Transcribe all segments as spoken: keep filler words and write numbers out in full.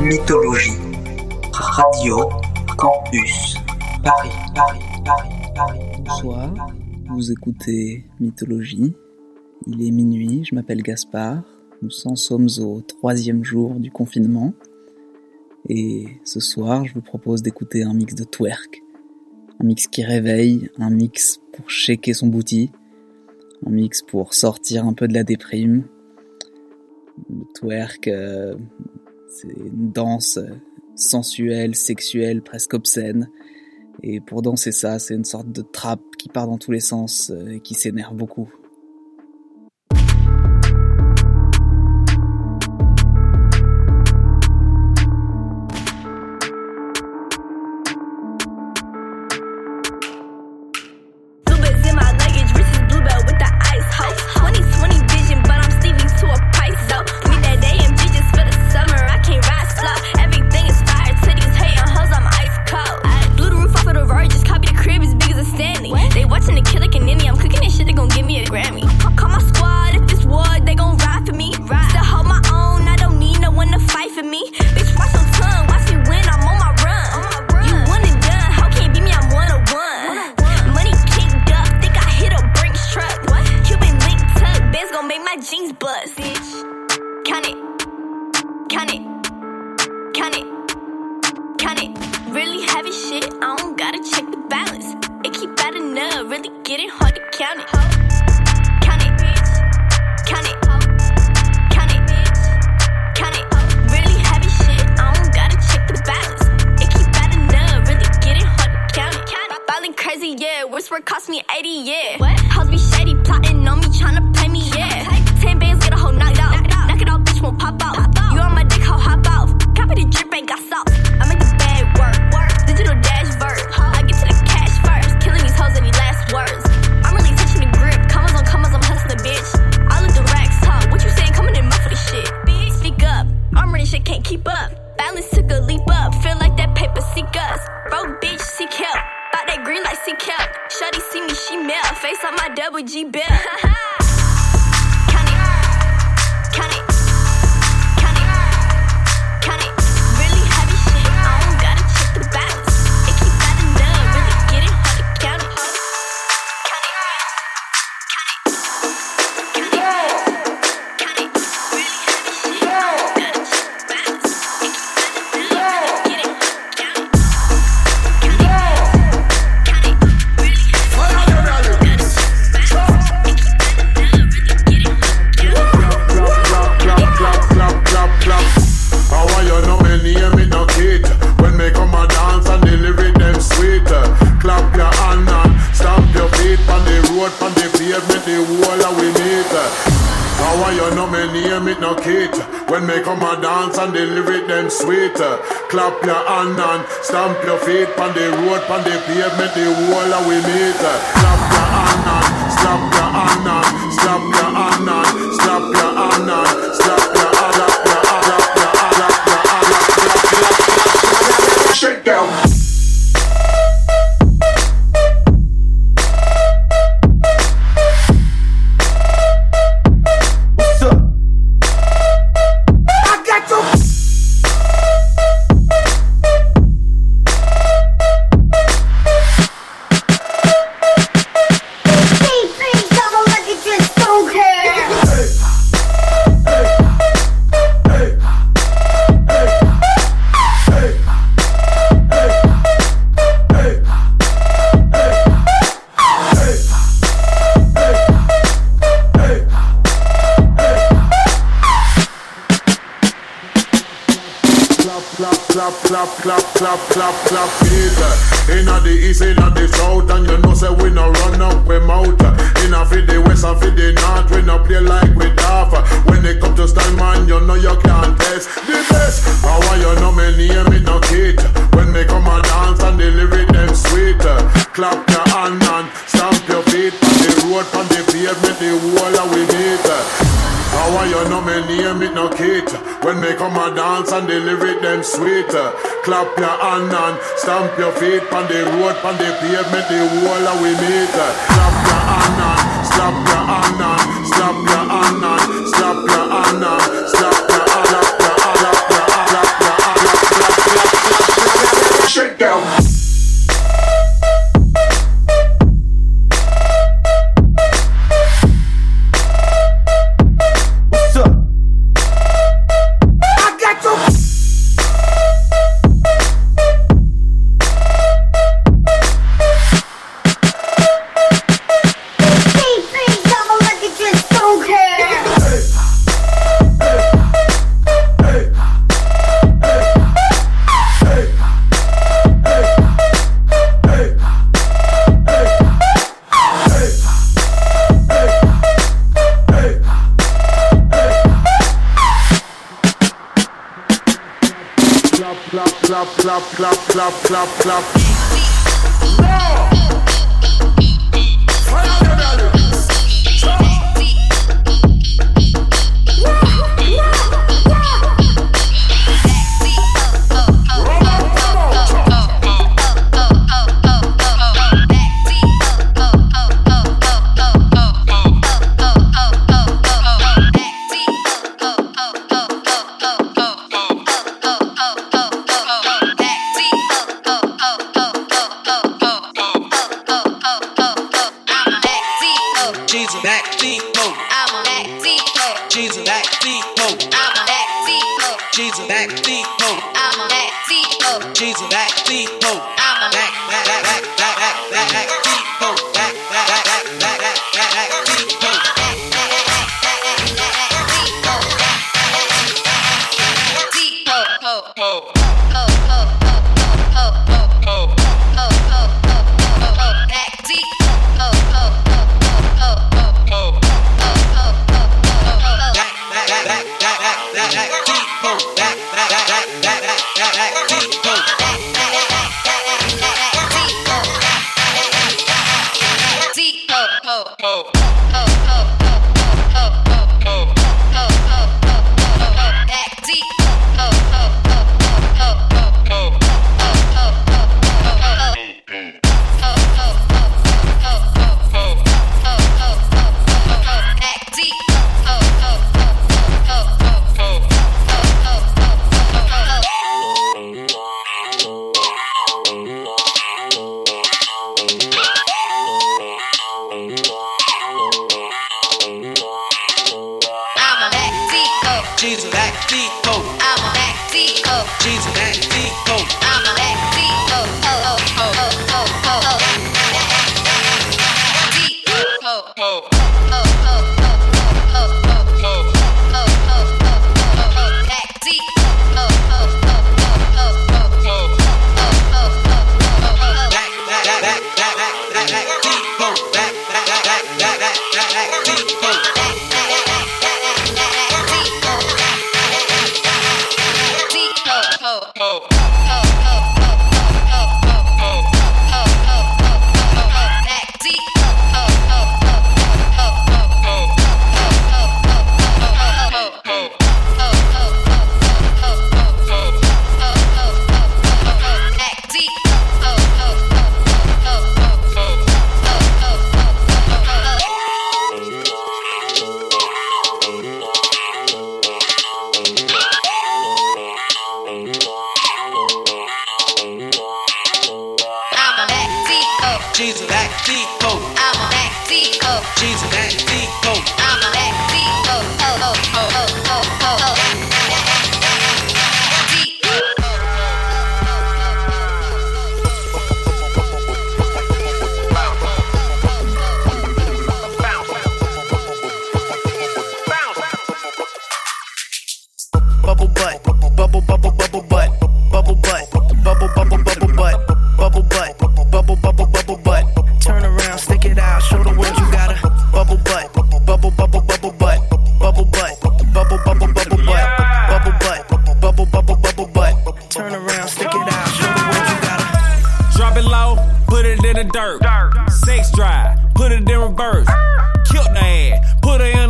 Mythologie. Radio Campus Paris, Paris, Paris, Paris. Bonsoir, vous écoutez Mythologie. Il est minuit, je m'appelle Gaspard. Nous en sommes au troisième jour du confinement. Et ce soir, je vous propose d'écouter un mix de twerk. Un mix qui réveille, un mix pour shaker son booty, un mix pour sortir un peu de la déprime. Le twerk, euh, c'est une danse sensuelle, sexuelle, presque obscène. Et pour danser ça, c'est une sorte de trap qui part dans tous les sens euh, et qui s'énerve beaucoup. Clap your hand and stamp your feet on the road, on the pavement, the wall of we meet. Clap your hand and slap your hand and slap your hand and slap your hand and slap your hand, slap your hand, slap your hand, slap your hand, shake down. Clap, clap, clap, clap, clap, it. Inna the east, inna the south, and you know say we no run up we mouth. Inna for the west and for the north, we no play like we daft. When they come to style, man, you know you can't test the best. How are you know me name it no kid? When me come and dance and the lyric them sweet. Clap your hand and stamp your feet on the road, on the pavement, the wall of we meet. How are you know me name it no kid? When me come and dance and the lyric them sweet. Clap your hand and stamp your feet on the road, on the pavement, the wall of we meet. Clap your hand and slap your hand and slap your hand and slap your hand and slap your hand, slap your hand, slap your hand, slap your hand. clap, clap, clap, clap, clap, clap.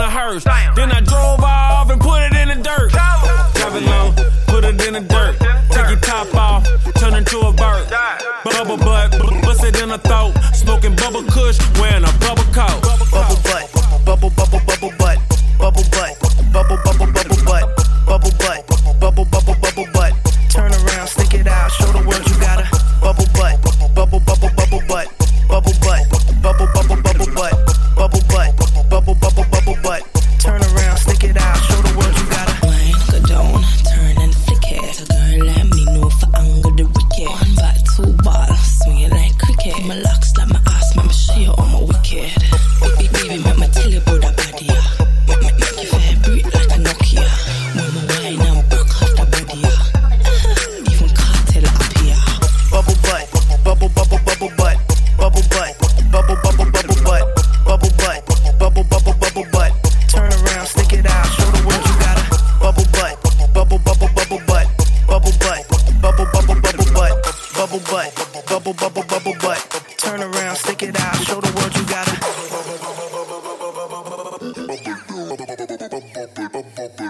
Then I drove off and put it in the dirt. Drop it low, put it in the dirt.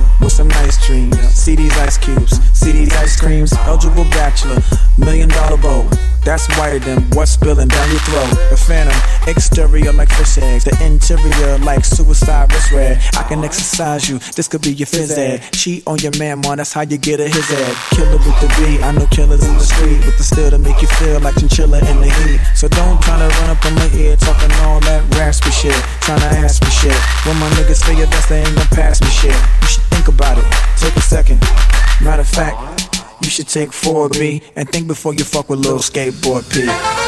with some nice dreams. See these ice cubes, see these ice creams. Eligible bachelor, million dollar bow. That's whiter than what's spilling down your throat. The phantom, exterior like fish eggs. The interior like suicide wrist red. I can exercise you, this could be your phys ed. Cheat on your man, man, that's how you get a his ed. Killer with the B, I know killers in the street with the steel to make you feel like chinchilla in the heat. So don't try to run up in my ear talking all that raspy shit, trying to ask me shit. When my niggas say your best, they ain't gonna pass me shit. You should think about it, take a second. Matter of fact, you should take four B and think before you fuck with Lil Skateboard P.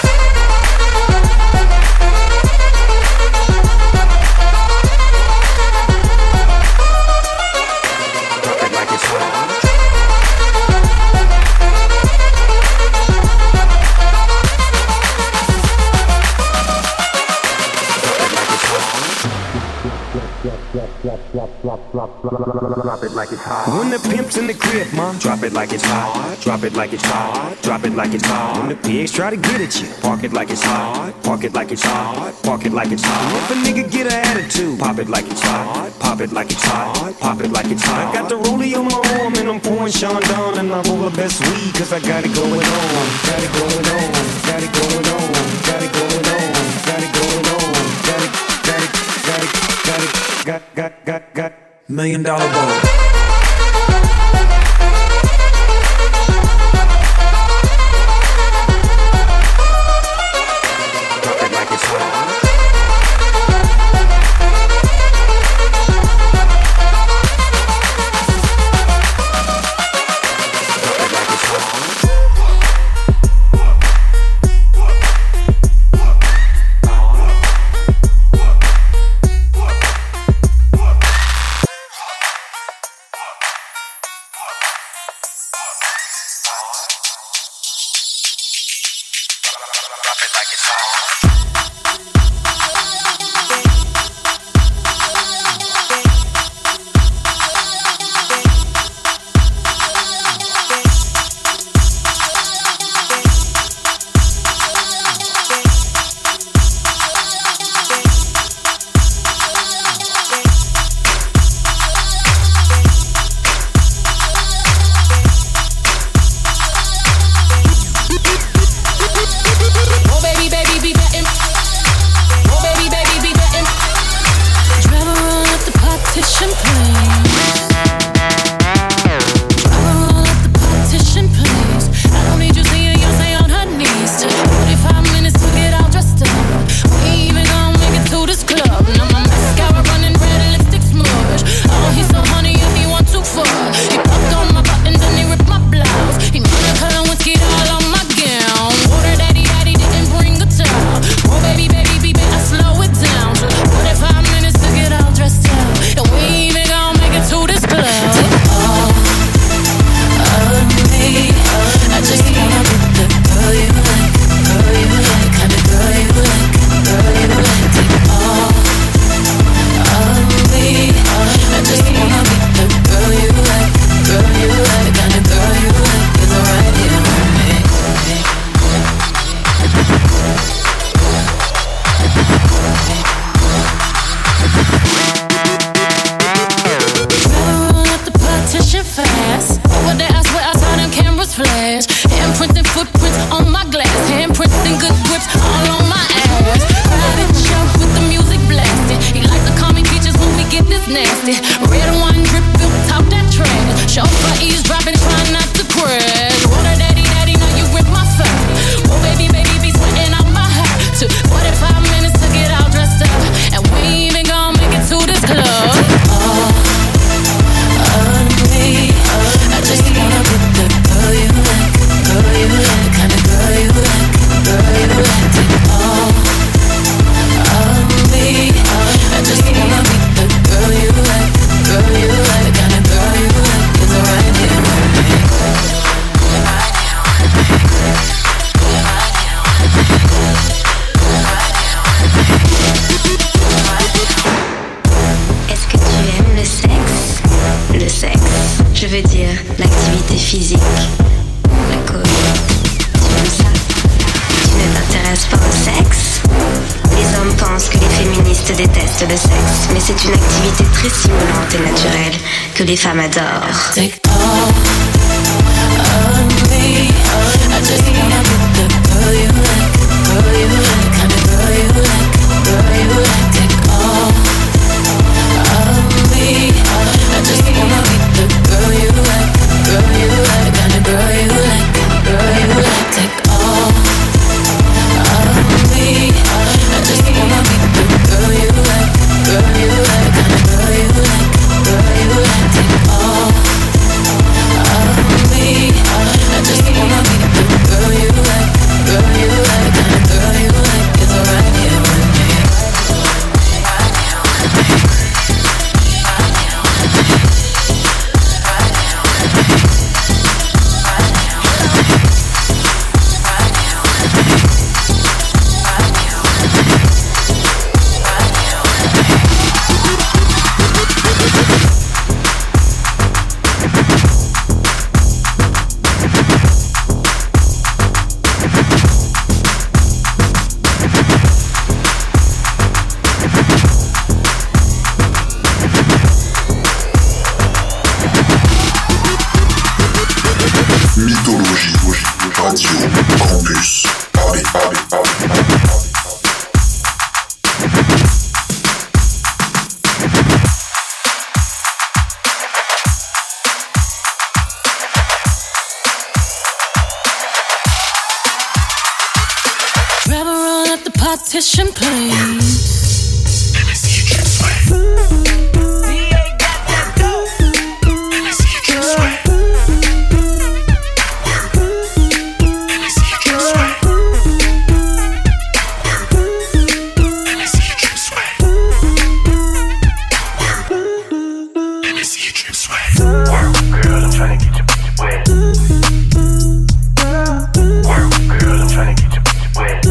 Drop it like it's hot. When the pimp's in the crib, mom, drop it like it's hot. Drop it like it's hot. Drop it like it's hot. When the pigs try to get at you, park it like it's hot. Park it like it's hot. Park it like it's hot. If a nigga get an attitude, pop it like it's hot. Pop it like it's hot. Pop it like it's hot. I got the rollie on my arm and I'm pouring Sean Don and I roll the best weed cause I got it going on. Got it going on. Got it going on. Got it going on. Got it going on. Got it. Got it. Got it. Got it. Got got got got. Million dollar bowl. Je veux dire l'activité physique, la cause. Tu aimes ça? Tu ne t'intéresse pas au sexe? Les hommes pensent que les féministes détestent le sexe, mais c'est une activité très stimulante et naturelle que les femmes adorent. Take all of me. I just wanna be the girl you like, girl you like, kind of girl you like, girl you like. Take all of me. I just wanna be the girl you like, girl you like, kind of girl you like, girl you like. Take all of me. I just wanna be the girl you like, girl you like, kind of girl you like, girl you like. Take all of me. I just wanna be the girl you like, girl you like, kind of girl you like. It's right here with me. Partition, please. Let me see you trip sweat. D A got that dope. Let me see you trip sweat. Let me see you trip sweat. Let me see you trip sweat. Let me see you trip sweat. Work, girl, I'm trying to get your bitch wet. Work, girl, I'm trying to get your bitch wet.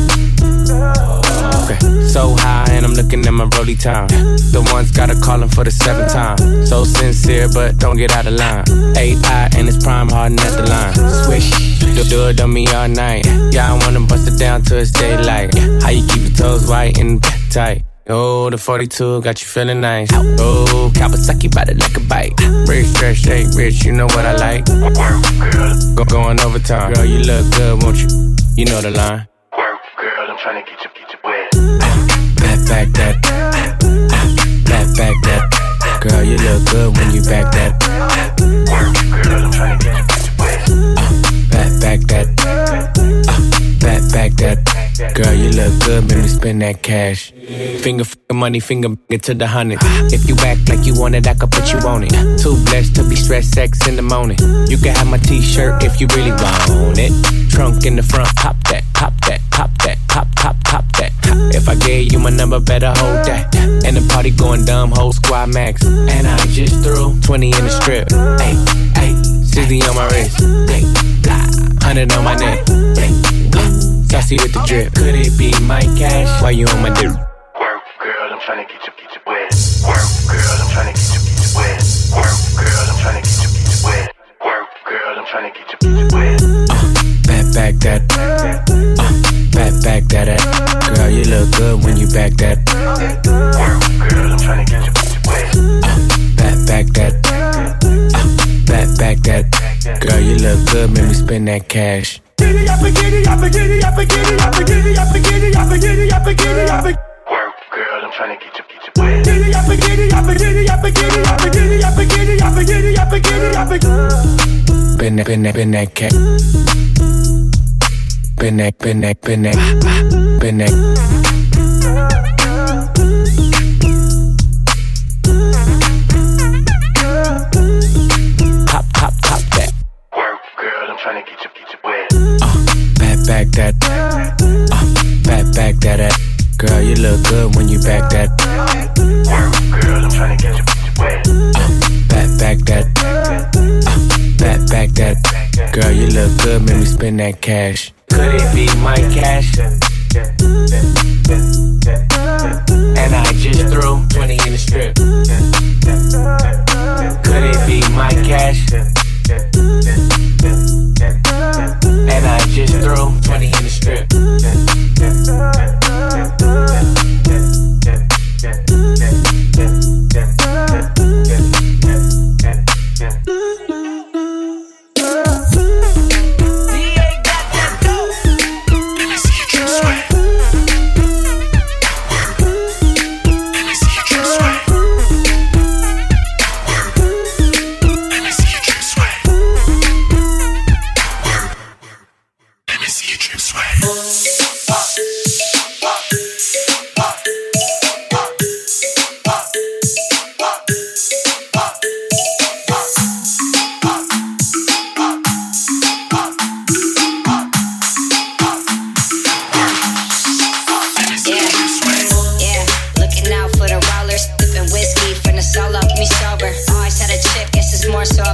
So high and I'm looking at my rollie time. The one's gotta callin' for the seventh time. So sincere but don't get out of line. A I and it's prime hardin' at the line. Swish, do, do it on me all night. Yeah, I wanna bust it down till it's daylight. How you keep your toes white and tight? Oh, the forty-two got you feeling nice. Oh, Kawasaki ride it like a bike. Rich, stretch, shake, rich, you know what I like. Go going overtime. Girl, you look good, won't you? You know the line. Work, girl, I'm trying to get you, get you wet. Back, back that, back, back that. Girl, you look good when you back that. Work, girl, I'm trying to get you, get you wet. Uh, back, back that, uh, back, back that. Girl, you look good, make me spend that cash. Finger, finger, money, finger, get to the hundred. If you act like you want it, I could put you on it. Too blessed to be stressed, sex in the morning. You can have my t-shirt if you really want it. Trunk in the front, pop that, pop that, pop that, pop, pop, pop that. If I gave you my number, better hold that. And the party going dumb, whole squad max. And I just threw twenty in the strip. Hey, hey, sixty on my wrist. Hey, hundred on my neck. Sassy with the drip. Could it be my cash? Why you on my dick? Work, girl, I'm trying to get you, get you wet. Work, girl, I'm trying to get you, get you wet. Work, girl, I'm trying to get you, get you wet. Work, girl, I'm trying to get you, get you wet. Uh, back, back that. Uh, back, back that. Uh. Girl, you look good when you back that. Work, girl, I'm trying to get you, get you wet. Uh, back, back that. Uh, back, back that. Girl, you look good, make me spend that cash. Giddy up, giddy up, giddy up, giddy up, giddy up, giddy up, giddy up, giddy up. Work, girl, I'm trying to get you, get you wet. Giddy up, giddy up, giddy up, giddy up, giddy up, giddy up, giddy up, giddy up. Been that, been that, been that cat. Been that, been that, been that, been that. Pop, pop, pop that. Work, girl, I'm trying to get you, get you wet. Back that, uh, back, back that, uh. Girl, you look good when you back that. Work, girl, I'm trying to get you, get you wet. Uh, back, back that, uh, back, back that. Girl, you look good, make me spend that cash. Could it be my cash? And I just threw twenty in the strip. Could it be my cash? And I just threw twenty in the strip.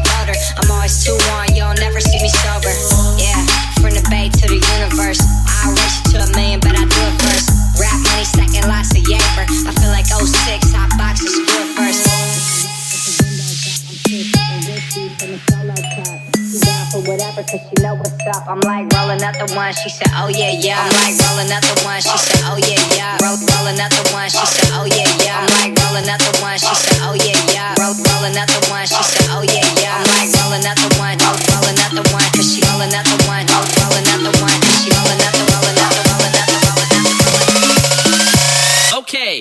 older. I'm always too on, you'll never see me sober. Yeah, from the bay to the universe. I'll race you to a million, but I do it first. Rap money stacking lots of yaper. I feel like oh six, hot boxes, do it first. For whatever, cause she know what's up. I'm like rolling up the one, she said, oh yeah, yeah. I'm like rolling up the one, she said, oh yeah, yeah. Roll, rolling up the one, she said, oh yeah, yeah. I'm like rolling up the one, she said, oh yeah, yeah. Roll, rolling up the one, she said, oh yeah, yeah. I'm like rolling up the one, roll, rolling up the one, cause she rolling up the one, roll, rolling up the one, cause she rolling up the, rolling up the, rolling up the, rolling up the, rolling up the. Okay.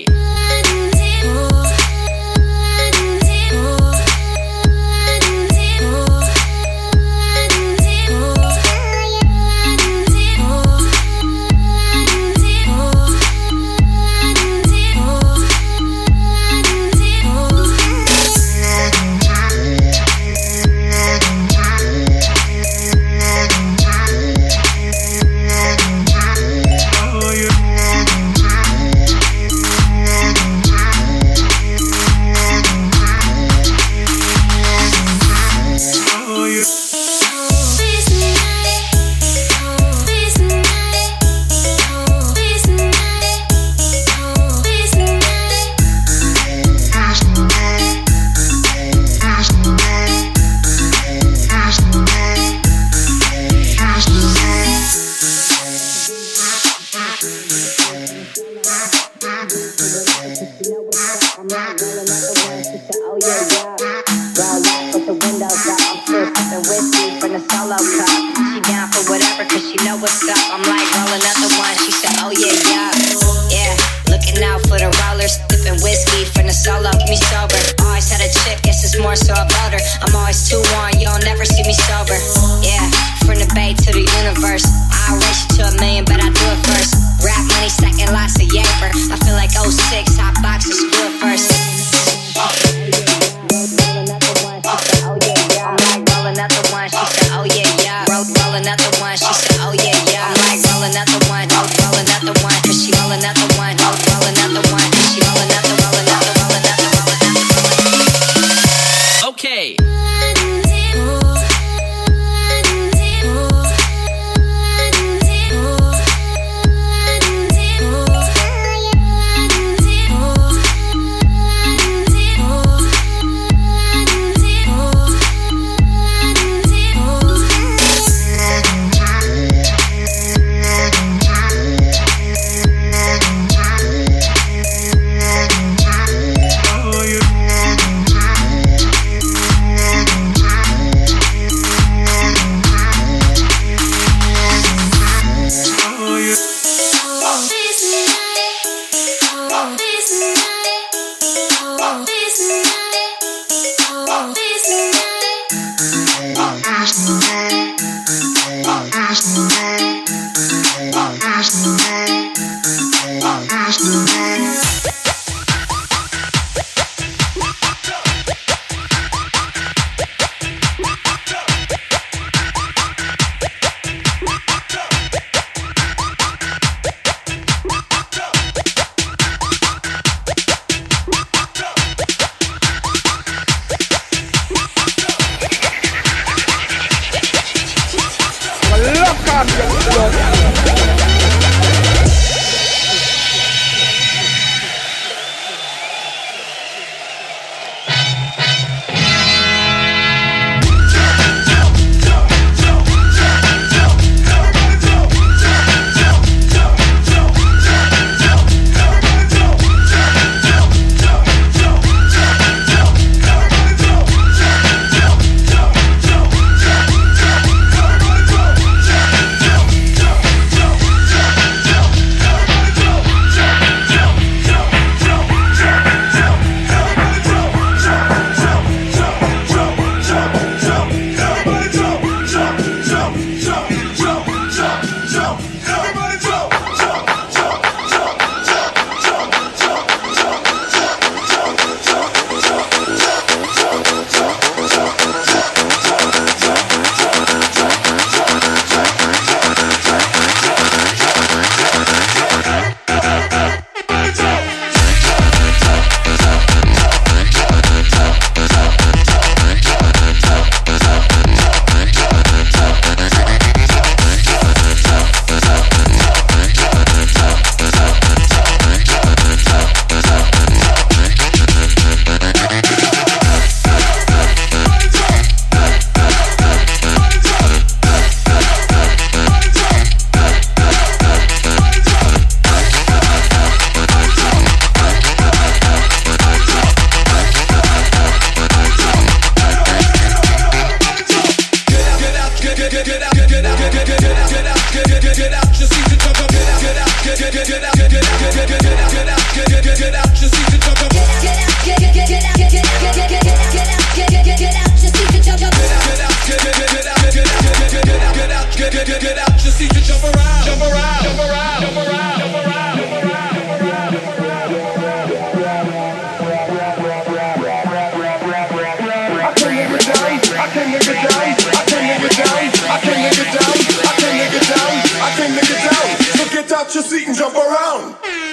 can nigga down, I can nigga down, I can nigga down, I can nigga down, I can nigga down. So get out your seat and jump around.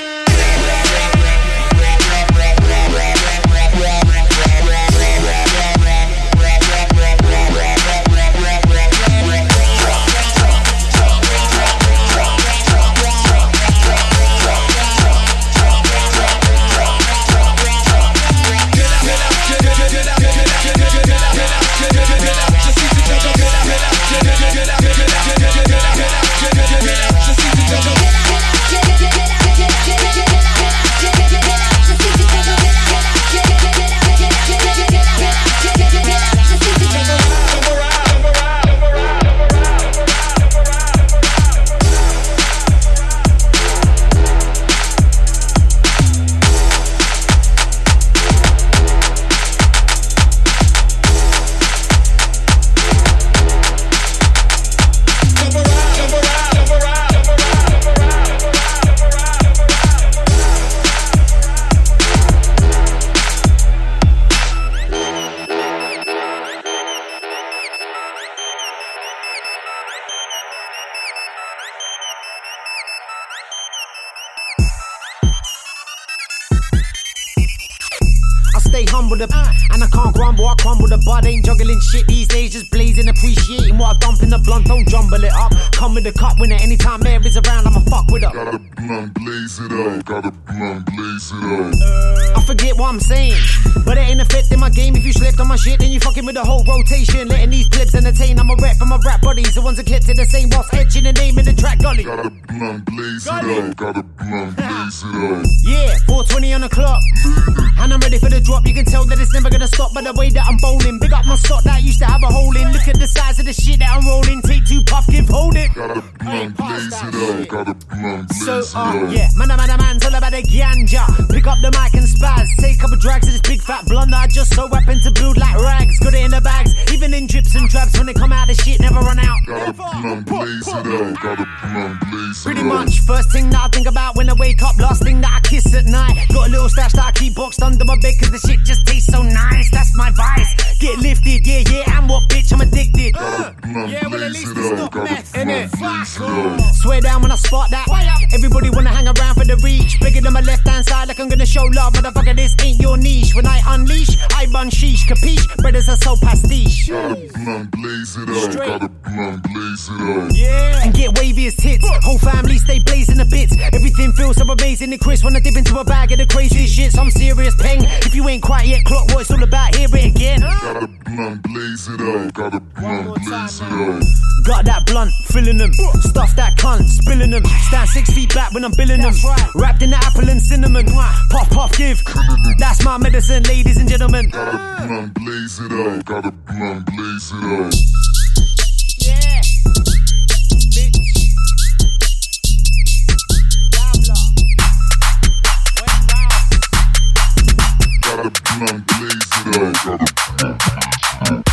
stay humble, the, uh, and I can't grumble, I crumble the bud, ain't juggling shit these days, just blazing, appreciating what I dump in the blunt, don't jumble it up, come with the cup winner, anytime Mary is around, I'ma fuck with her. Gotta blunt, blaze it up, gotta blunt, blaze it up. I forget what I'm saying, but it ain't affecting my game. If you slipped on my shit, then you fucking with the whole rotation, letting these clips entertain. I'm a rep for my rap buddies, the ones that kept it the same whilst etching the name in the track gully. Gotta blunt, blaze it up, gotta blunt, blaze it up. Yeah, four twenty on the clock, and I'm ready for the drop. You can tell that it's never gonna stop by the way that I'm bowling. Big up my stock that used to have a hole in. Look at the size of the shit that I'm rolling. Take two puff, give, hold it. Gotta blunt, blaze it up, gotta blunt, blaze So, it uh, up. yeah, man, man, man, man's all about the ganja. Pick up the mic and spaz. Take a couple drags of this big fat blunt that I just so happen to build like rags. Got it in the bags, even in drips and traps. When they come out, the shit never run out. Gotta blunt, blaze it up, gotta blunt, blaze it Pretty up. much, first thing that I think about when I wake up, last thing that I kiss at night. Got a little stash that I keep boxed under my bed, cause the shit just tastes so nice. That's my vice. Get lifted, yeah, yeah, and what bitch, I'm addicted. Gotta blunt, Yeah, well, at blaze least it it's up, not gotta meth, blunt, innit? blaze it up. Swear down when I spot that. Everybody wanna hang around for the reach. Bigger than my left hand side, like I'm gonna show love. Motherfucker, this ain't your niche. When I unleash, I bun sheesh. Capiche? Brothers are so pastiche. Gotta blunt, blaze it up, Straight. gotta blunt, blaze it up. Yeah. And get wavy as tits. Whole family stay blazing the bits. Everything feels so amazing and crisp when I dip into a bag of the craziest shit. Some serious peng. If you ain't quite yet clock what it's all about, hear it again. Gotta blunt, blaze it up, gotta blunt, blaze it up. Got that blunt, filling them. Stuff that cunt, spilling them. Stand six feet back when I'm billing them. Wrapped in the apple and cinnamon. Puff, puff, give. That's my medicine, ladies and gentlemen. Gotta blunt, blaze it up, gotta blunt, blaze it up. Yeah. Bitch. Diablo. Went round. Gotta blunt, blaze it up, gotta blunt, blaze it up.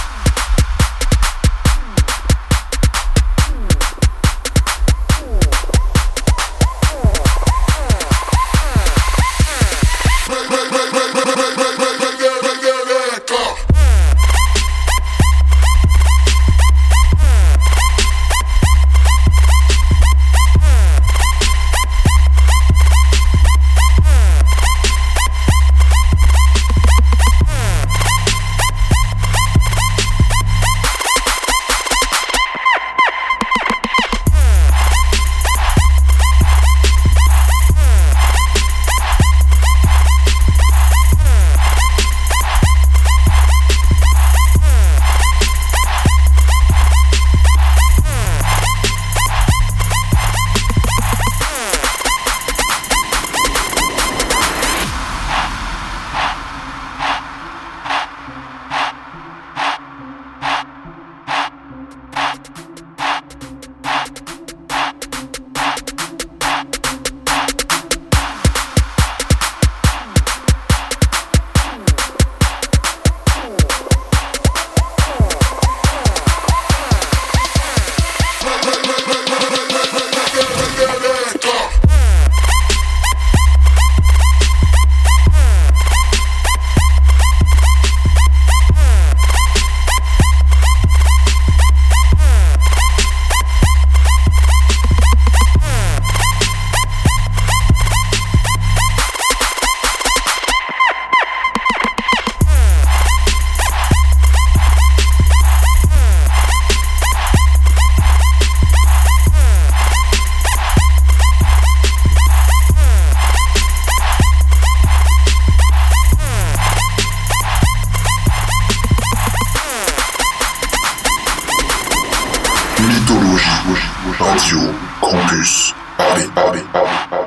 Mythologie, Radio Campus Paris, Paris, Paris, Paris.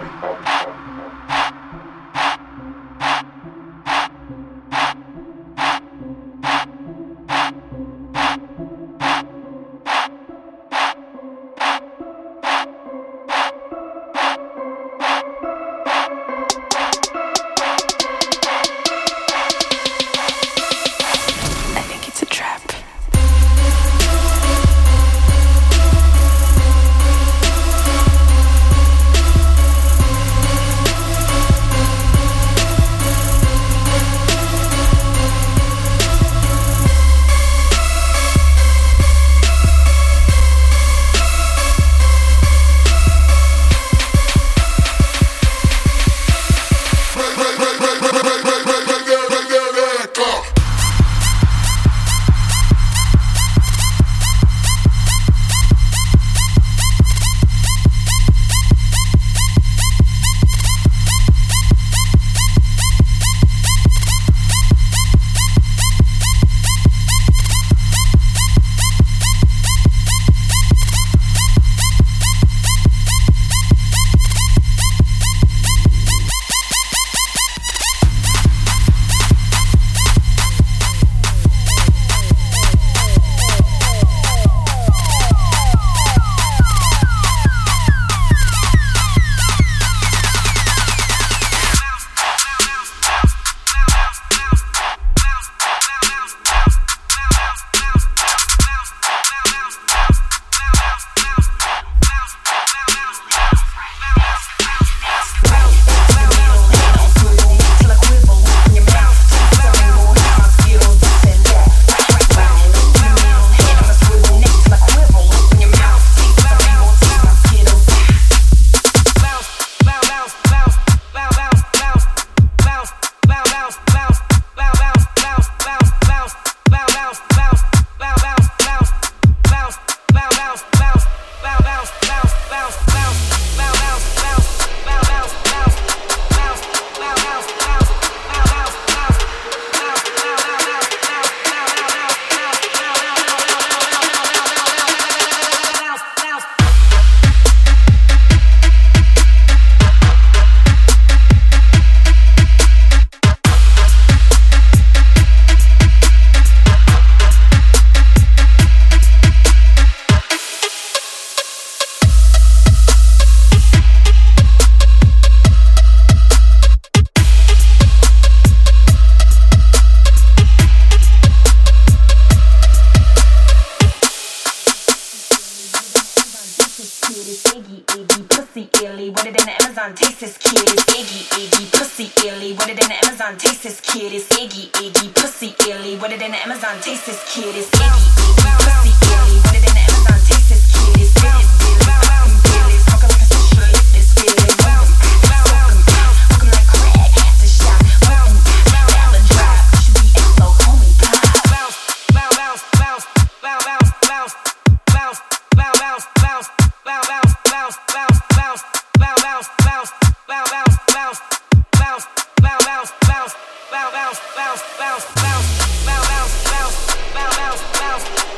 bounce, bounce, bounce, bounce, bounce, bounce, bounce, bounce, bounce, bounce.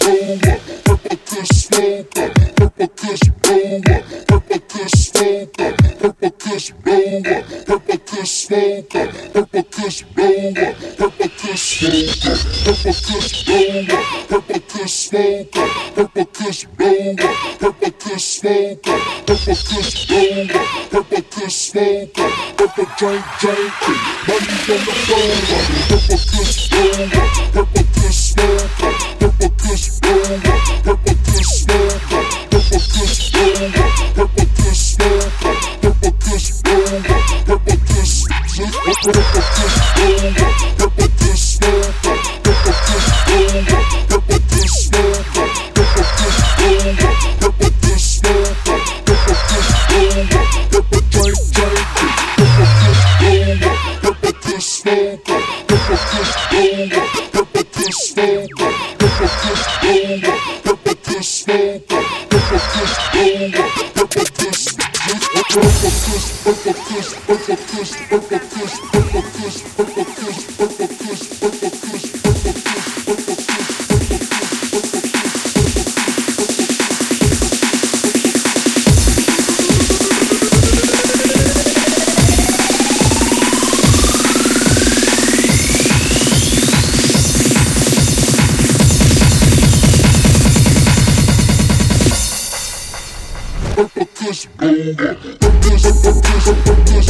roller, purple kush smoker, purple kush roller, purple kush smoker, purple kush roller, purple kush smoker, purple kush roller, purple kush smoker, purple kush roller, purple kush smoker, purple kush roller, purple kush smoker, purple kush roller, purple kush smoker, purple drink drinking, money on the roller, purple kush roller, purple kush smoker, purple kush roller, purple kush smoker, purple kush roller, purple kush smoker, purple kush roller, purple kush purple kush roller, purple kush smoker, purple kush roller, purple kush smoker, purple kush roller, purple kush smoker, purple kush roller, purple drink drinking, purple kush roller, purple kush smoker, purple kush roller, purple kush smoker, purple kush roller, purple kush smoker, purple kush roller, purple kush purple kush, purple kush, purple kush, purple kush, purple kush, purple kush, purple kush, purple kush, purple kush, purple kush roller, kush, kush, kush,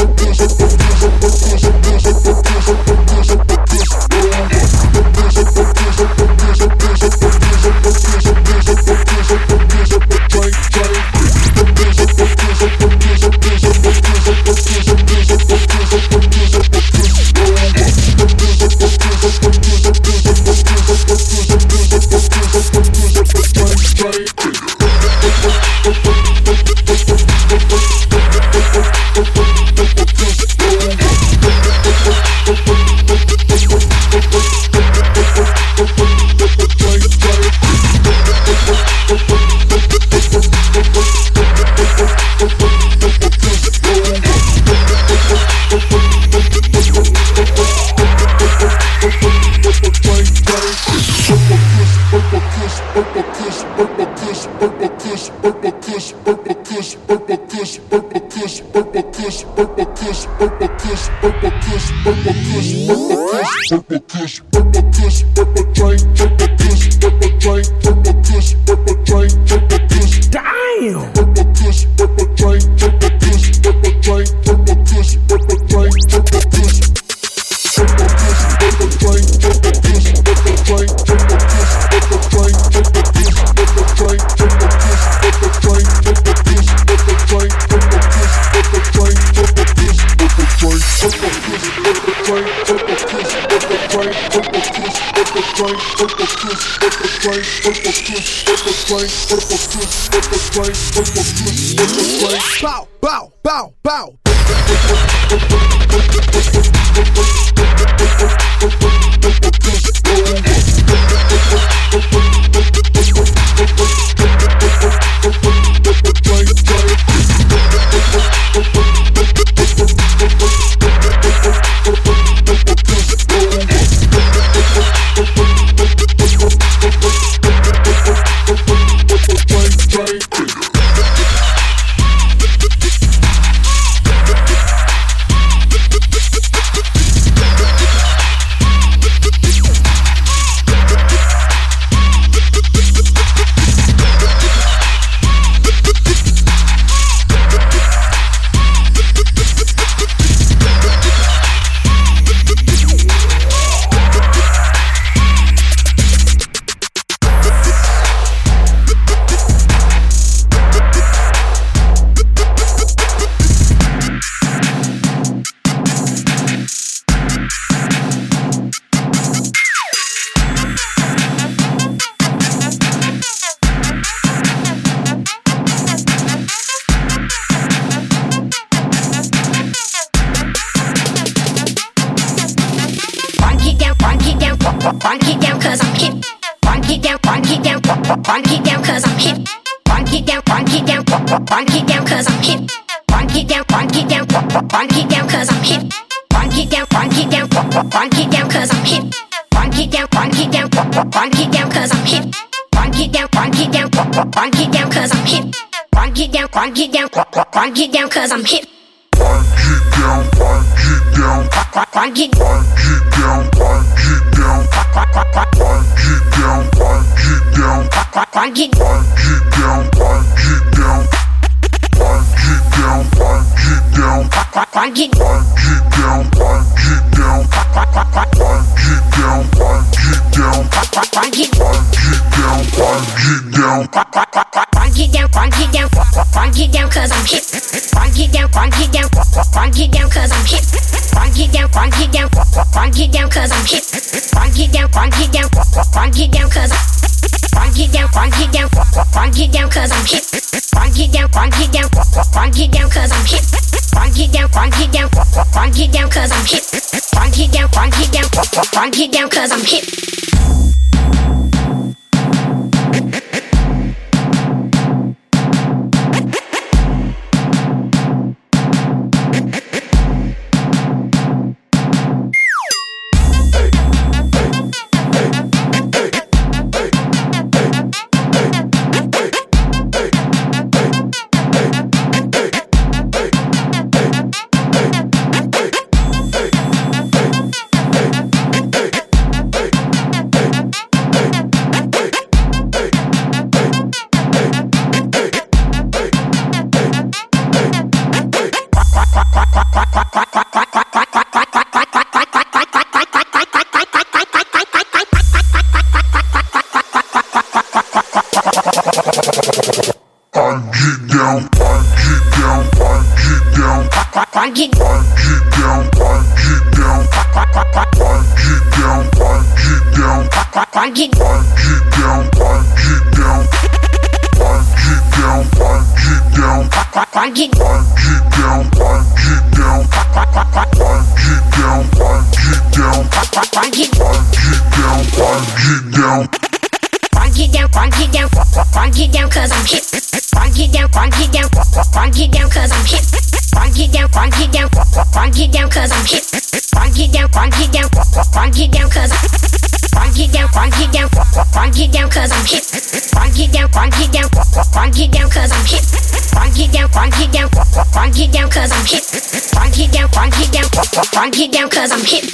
bow, bow, bow, bow. Rock it down cause I'm hip. Rock it down, rock it down, rock it down cause I'm hip. Rock it down, rock it down, rock it down cause I'm hip. Rock it down, rock it down, rock it down cause I'm hip. Rock it down, rock it down, rock it down cause I'm hip. Rock it down, rock it down, rock it down cause I'm hip. Rock Grind get down cause I'm hip. Grind get down, grind get down, grind get down cause I'm hip. Grind get down, grind get down, grind get down, get down, grind get down, grind get down, grind get down, grind get down, get down, grind get down, grind get down, grind get down, grind get down, get down, grind get down, grind get down, grind get down, grind get down, grind get down, grind get down, grind get down, grind get down cause I'm hip. Grind get down, grind get down, grind get down cause I'm hip. Grind get down, grind get down, grind get down cause I'm hip. Grind get down, grind get down, grind get down cause I'm grind get down, grind get down, grind get down cause I'm hip. Grind get down, grind get down, grind get down cause I'm hip. Grind get down, grind get down, grind get down cause I'm hip. Grind get down, grind get down, grind get down cause I'm hip. Grind get down cause I'm hip.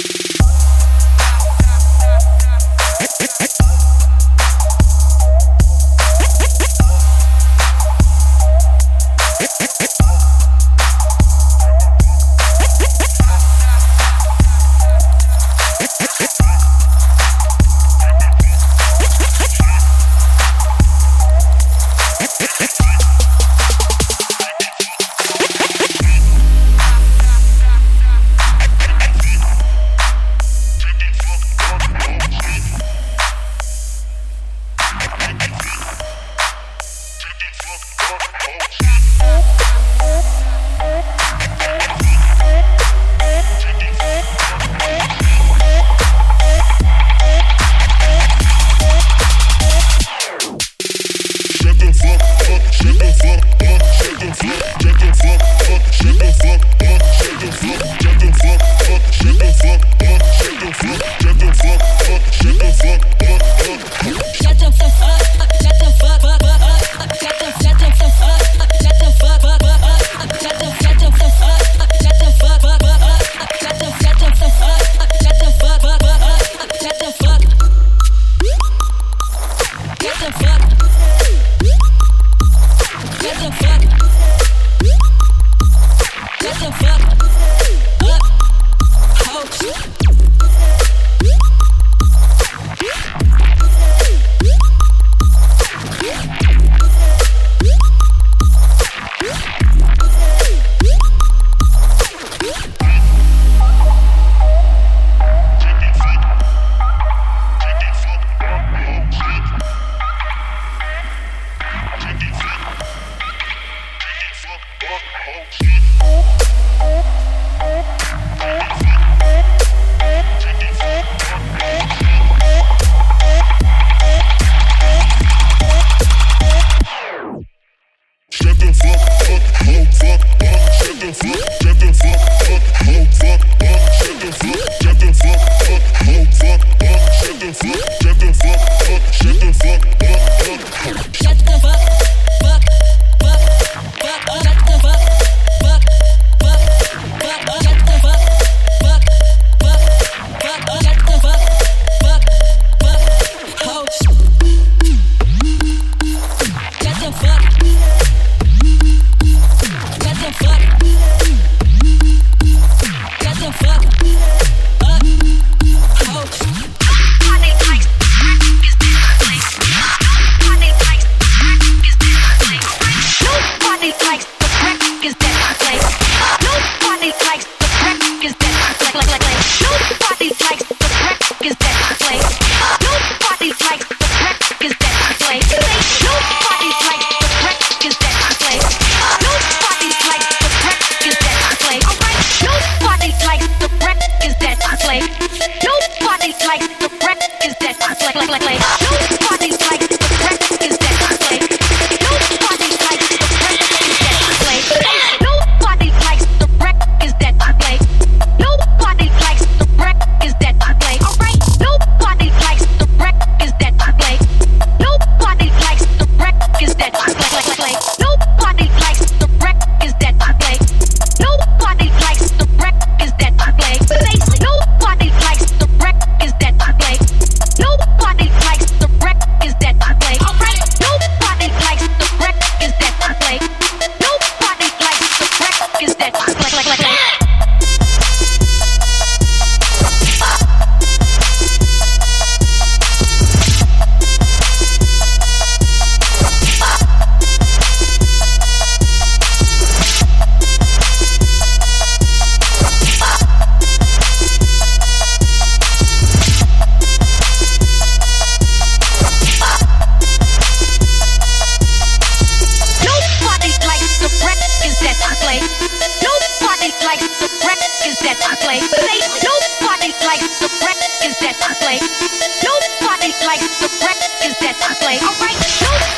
Nobody likes the records that I play. Alright, nobody